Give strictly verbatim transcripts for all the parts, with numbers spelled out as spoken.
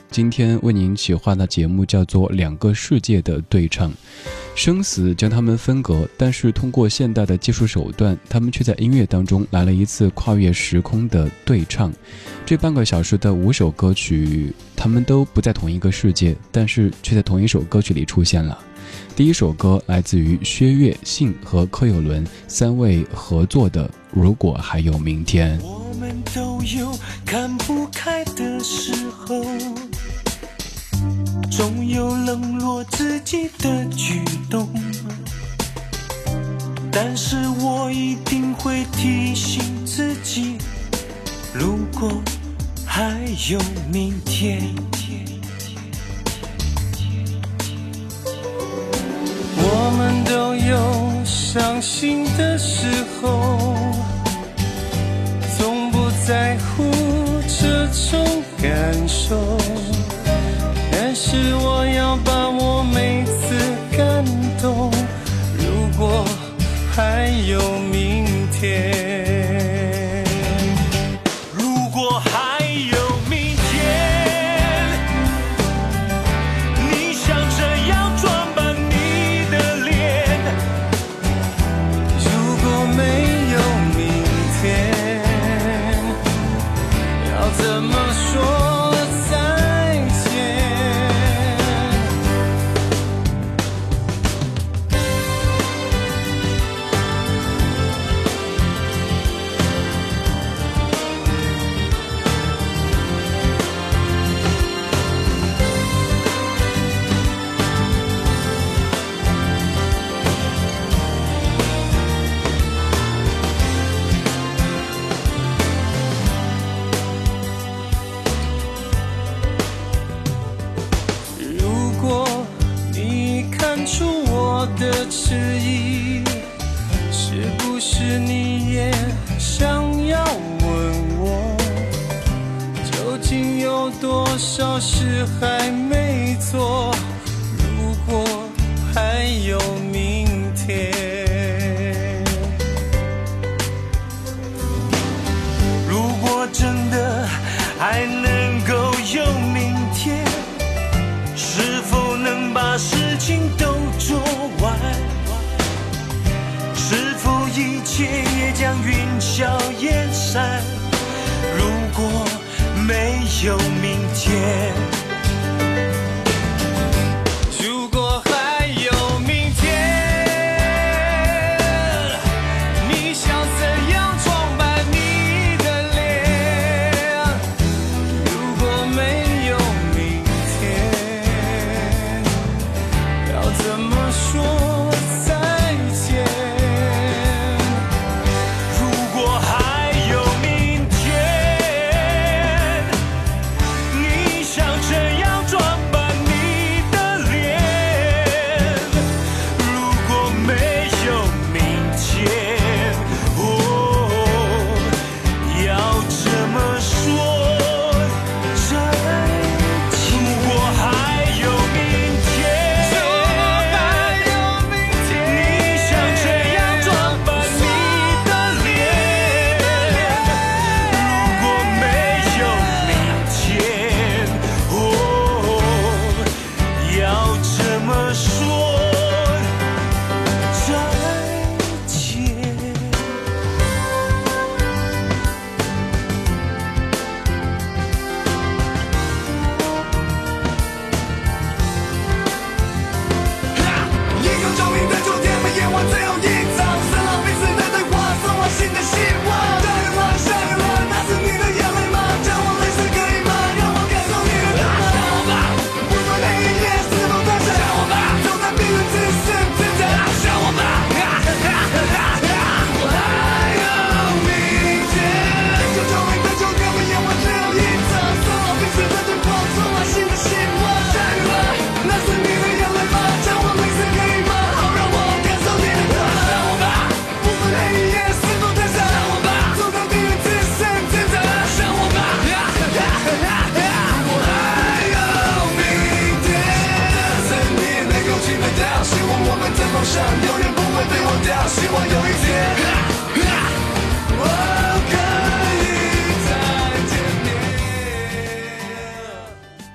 今天为您企划的节目叫做《两个世界的对唱》，生死将他们分隔，但是通过现代的技术手段，他们却在音乐当中来了一次跨越时空的对唱。这半个小时的五首歌曲，他们都不在同一个世界，但是却在同一首歌曲里出现了。第一首歌来自于薛岳、信和柯有伦三位合作的《如果还有明天》。 我们都有看不开的时候，总有冷落自己的举动，但是我一定会提醒自己，如果还有明天。我们都有伤心的时候，从不在乎这种感受，但是我要把握每次感动，如果还有明天，如果还有明天，你想这样装扮你的脸，如果没有明天，要怎么说再见？如果你看出我的迟疑，是不是你也想要问我，究竟有多少事还没做？如果还有明天，如果真的还能够有明天，是否能把事情都做完？是否一切也将云消烟散？如果没有明天，如果还有明天，你想怎样装扮你的脸？如果没有明天，要怎么说再见？如果还有明天，你想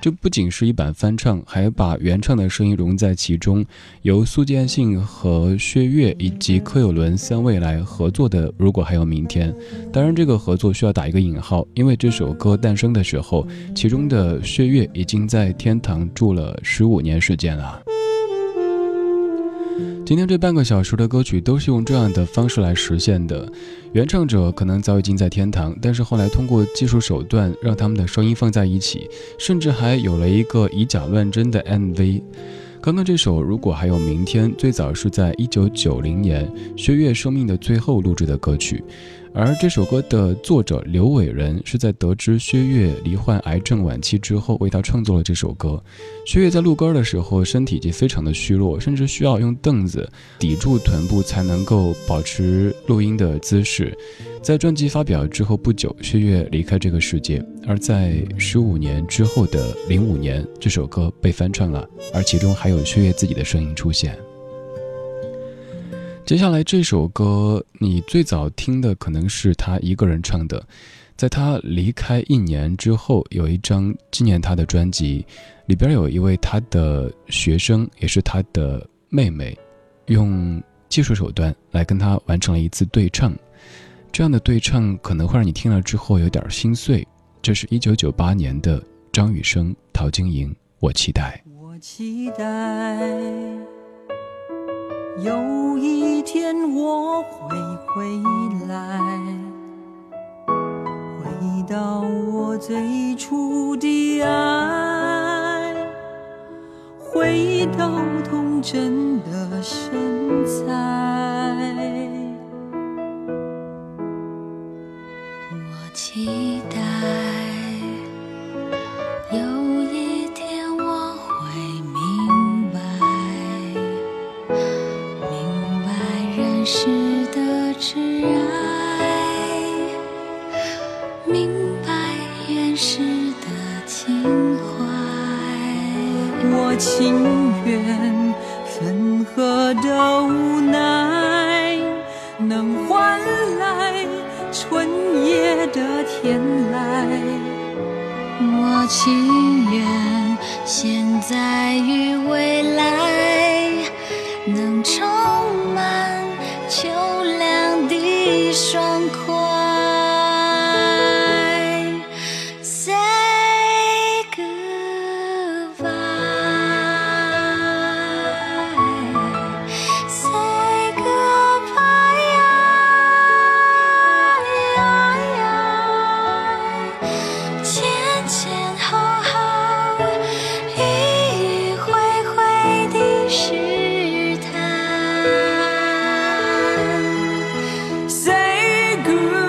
这不仅是一版翻唱，还把原唱的声音融在其中，由苏建信和薛岳以及柯有伦三位来合作的《如果还有明天》。当然这个合作需要打一个引号，因为这首歌诞生的时候，其中的薛岳已经在天堂住了十五年时间了。今天这半个小时的歌曲都是用这样的方式来实现的，原唱者可能早已经在天堂，但是后来通过技术手段让他们的声音放在一起，甚至还有了一个以假乱真的 M V。 刚刚这首《如果还有明天》最早是在一九九零年薛岳生命的最后录制的歌曲，而这首歌的作者刘伟仁是在得知薛岳罹患癌症晚期之后为他创作了这首歌。薛岳在录歌的时候身体已经非常的虚弱，甚至需要用凳子抵住臀部才能够保持录音的姿势。在专辑发表之后不久，薛岳离开这个世界，而在十五年之后的零五年，这首歌被翻唱了，而其中还有薛岳自己的声音出现。接下来这首歌你最早听的可能是他一个人唱的，在他离开一年之后，有一张纪念他的专辑，里边有一位他的学生，也是他的妹妹，用技术手段来跟他完成了一次对唱。这样的对唱可能会让你听了之后有点心碎。这是一九九八年的张雨生、陶晶莹，我期待， 我期待有一天我会回来，回到我最初的爱，回到童真的身材。我期待有一天我会明白，明白人世的挚爱，明白原始的情怀。我情愿分合的无奈，能换来春夜的天籁。我情愿现在与未来能充满秋凉的爽快。 Say goodbye, say goodbye,前前后后，迂迂回回的试探。Say goodbye.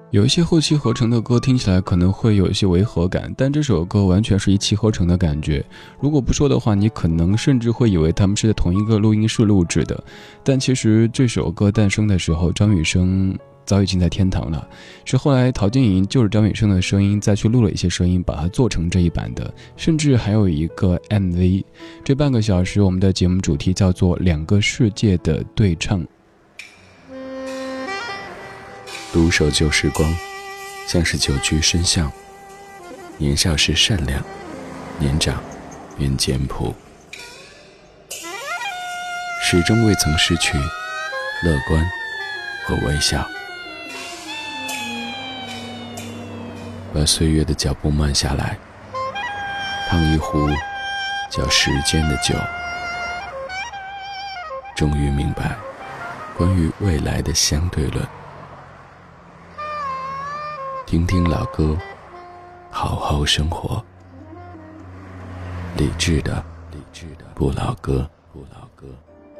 有一些后期合成的歌听起来可能会有一些违和感，但这首歌完全是一气呵成的感觉。如果不说的话，你可能甚至会以为他们是在同一个录音室录制的。但其实这首歌诞生的时候，张雨生早已经在天堂了，是后来陶晶莹就是张雨生的声音再去录了一些声音，把它做成这一版的，甚至还有一个 M V。 这半个小时我们的节目主题叫做两个世界的对唱。 独守旧时光，像是久居深巷。年少时善良，年长便简朴，始终未曾失去乐观和微笑。把岁月的脚步慢下来，烫一壶叫时间的酒，终于明白关于未来的相对论。听听老歌，好好生活。理智的理智的不老歌不老歌。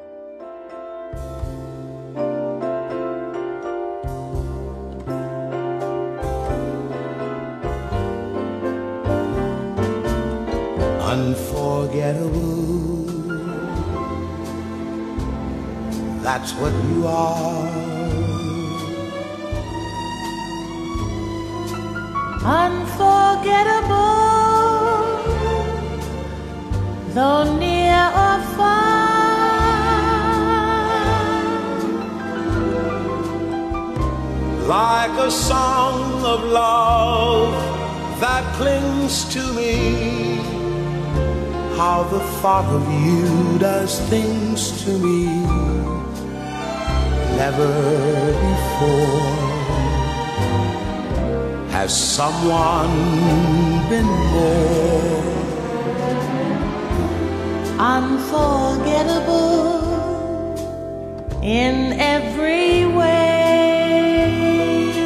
Unforgettable, that's what you are. Unforgettable, though near or far. Like a song of love that clings to me, how the thought of you does things to me never before. Has someone been more unforgettable in every way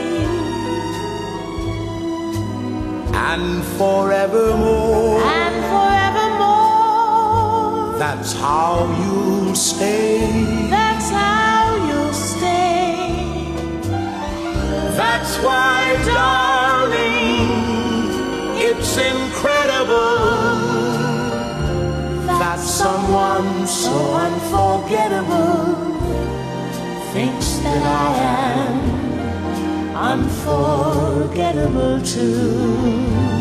and forevermore? And forevermore, that's how you'll stay. That's how you'll stay. That's why, darling, it's incredible that someone so unforgettable thinks that I am unforgettable too.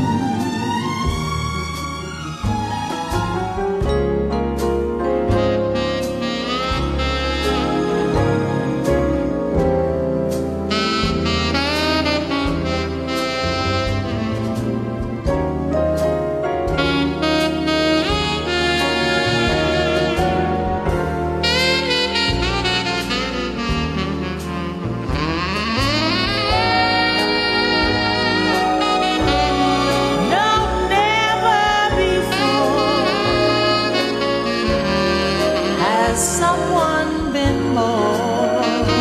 someone been more.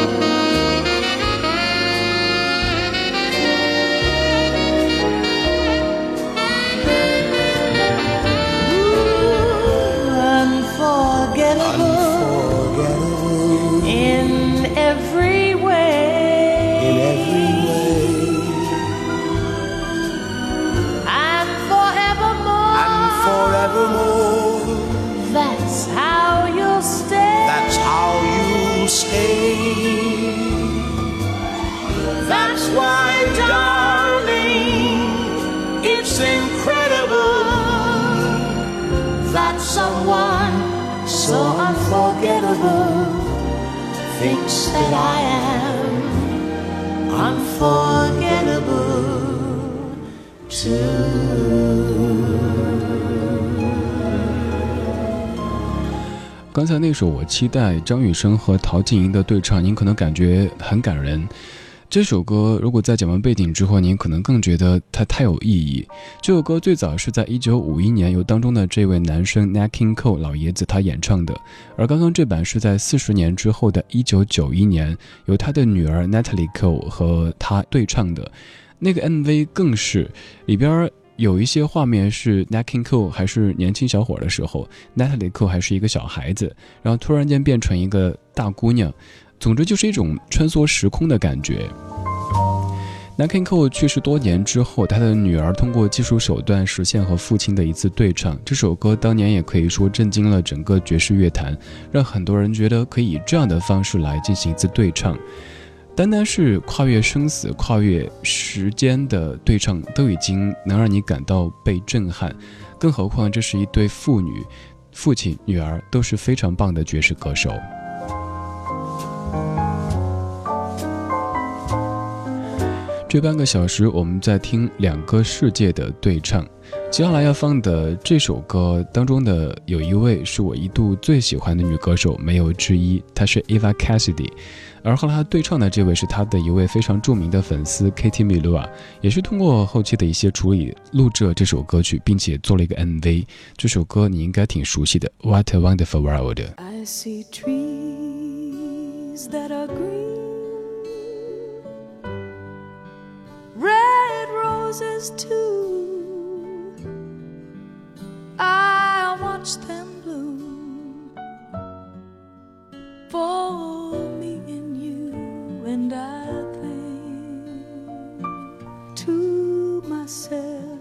Ooh, unforgettable, unforgettable in every way, in every way, and forevermore, and forevermore. That's how you'll stay. That's how you'll stay. That's why, darling, it's incredible that someone so unforgettable thinks that I am unforgettable too. 刚才那首我期待张雨生和陶晶莹的对唱，您可能感觉很感人。这首歌如果在讲完背景之后，您可能更觉得它太有意义。这首歌最早是在一九五一年由当中的这位男生 Nat King Cole 老爷子他演唱的，而刚刚这版是在四十年之后的一九九一年由他的女儿 Natalie Cole 和他对唱的。那个 M V 更是里边有一些画面是 Nat King Cole 还是年轻小伙的时候， Natalie Cole 还是一个小孩子，然后突然间变成一个大姑娘，总之就是一种穿梭时空的感觉。 南 King Cole 去世多年之后，他的女儿通过技术手段实现和父亲的一次对唱。这首歌当年也可以说震惊了整个爵士乐坛，让很多人觉得可以以这样的方式来进行一次对唱。单单是跨越生死、跨越时间的对唱，都已经能让你感到被震撼，更何况这是一对父女，父亲、女儿都是非常棒的爵士歌手。这半个小时我们在听两个世界的对唱，接下来要放的这首歌当中的有一位是我一度最喜欢的女歌手，没有之一，她是 Eva Cassidy， 而和她对唱的这位是她的一位非常著名的粉丝 Katie Melua， 也是通过后期的一些处理录制了这首歌曲，并且做了一个 M V。 这首歌你应该挺熟悉的， What a Wonderful World。 I see trees that are green, red roses too. I watch them bloom for me and you, and I think to myself,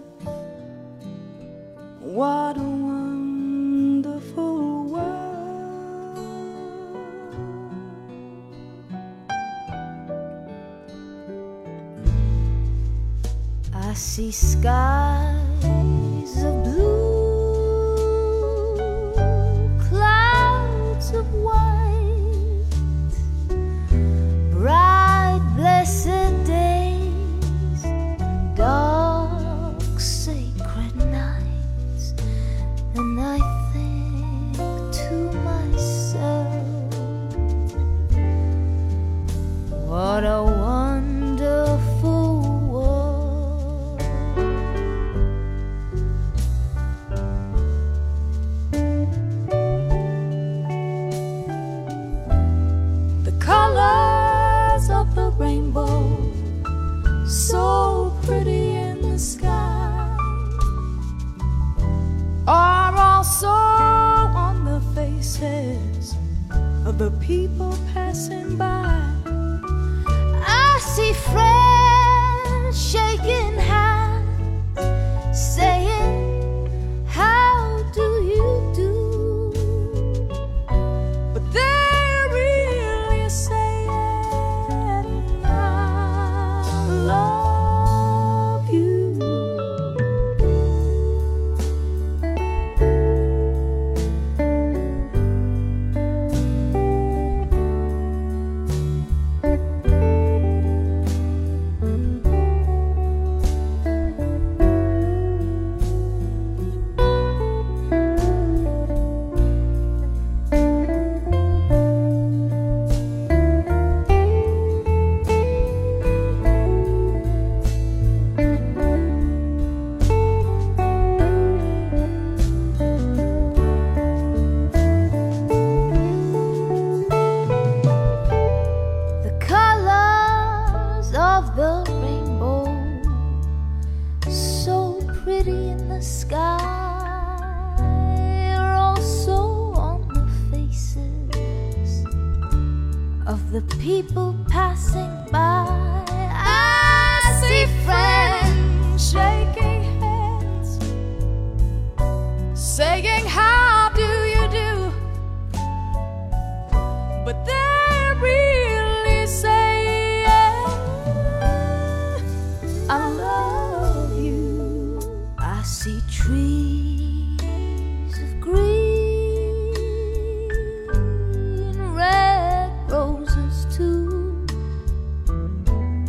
what a wonderful world. I see skies of blue, clouds of white, bright blessed days, dark sacred nights, and I think to myself, what a wonderful world. The colors of the rainbow, so pretty in the sky, are also on the faces of the people passing by. I see friends shaking hands, saying, how do you do? But they're really saying, I love you. The colors of the rainbow, so pretty in the sky, are also on the faces of the people passing by. I see friends shaking hands, saying, how do you do? But they're really saying, I love you. I see trees of green, red roses too.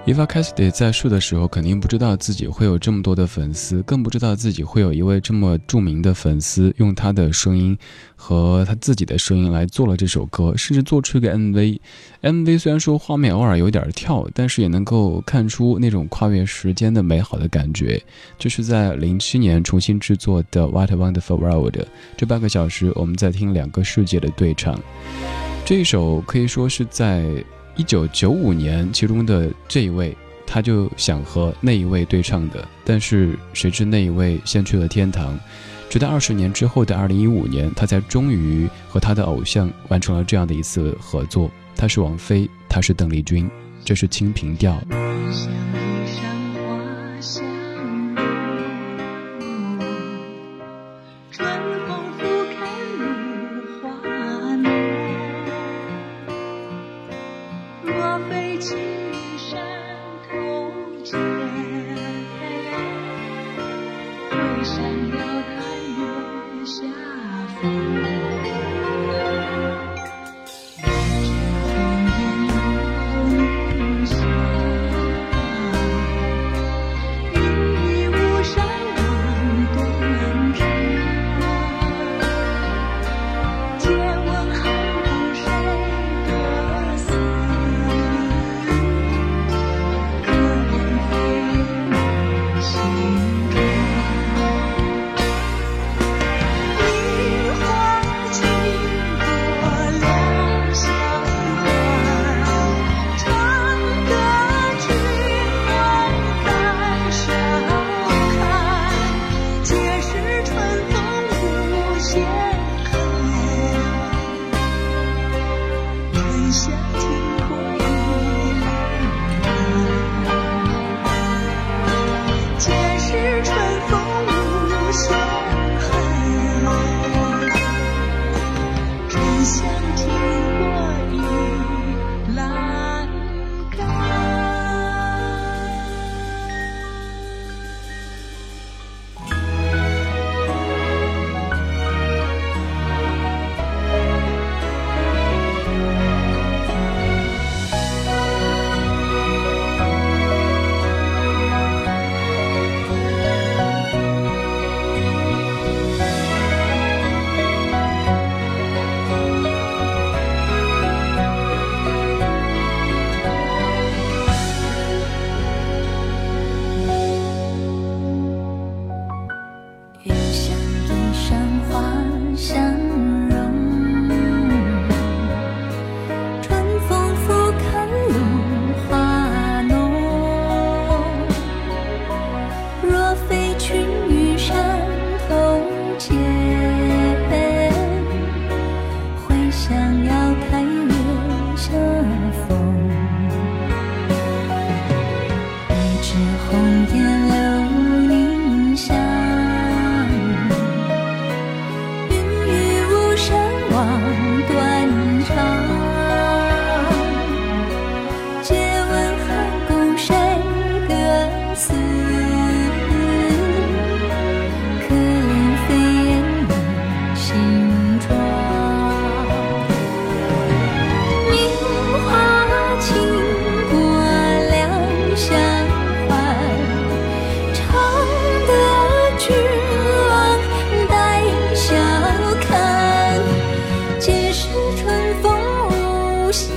Eva Cassidy 在世的时候肯定不知道自己会有这么多的粉丝，更不知道自己会有一位这么著名的粉丝用他的声音和他自己的声音来做了这首歌，甚至做出一个 M V。 M V 虽然说画面偶尔有点跳，但是也能够看出那种跨越时间的美好的感觉。这是在零七年重新制作的 What a Wonderful World， 这半个小时我们在听两个世界的对唱。这一首可以说是在一九九五年其中的这一位他就想和那一位对唱的，但是谁知那一位先去了天堂，直到二十年之后的二零一五年，他才终于和他的偶像完成了这样的一次合作。他是王菲，他是邓丽君，这是清平调。 像一山花香春风拂开露花浓，若非青山头见，会闪耀开月下风。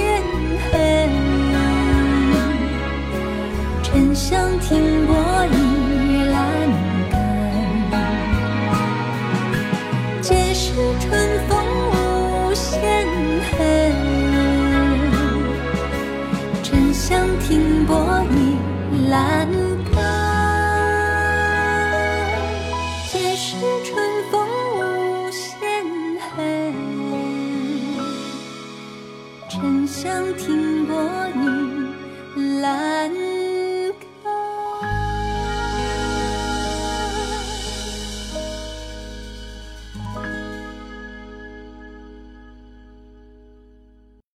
想听过一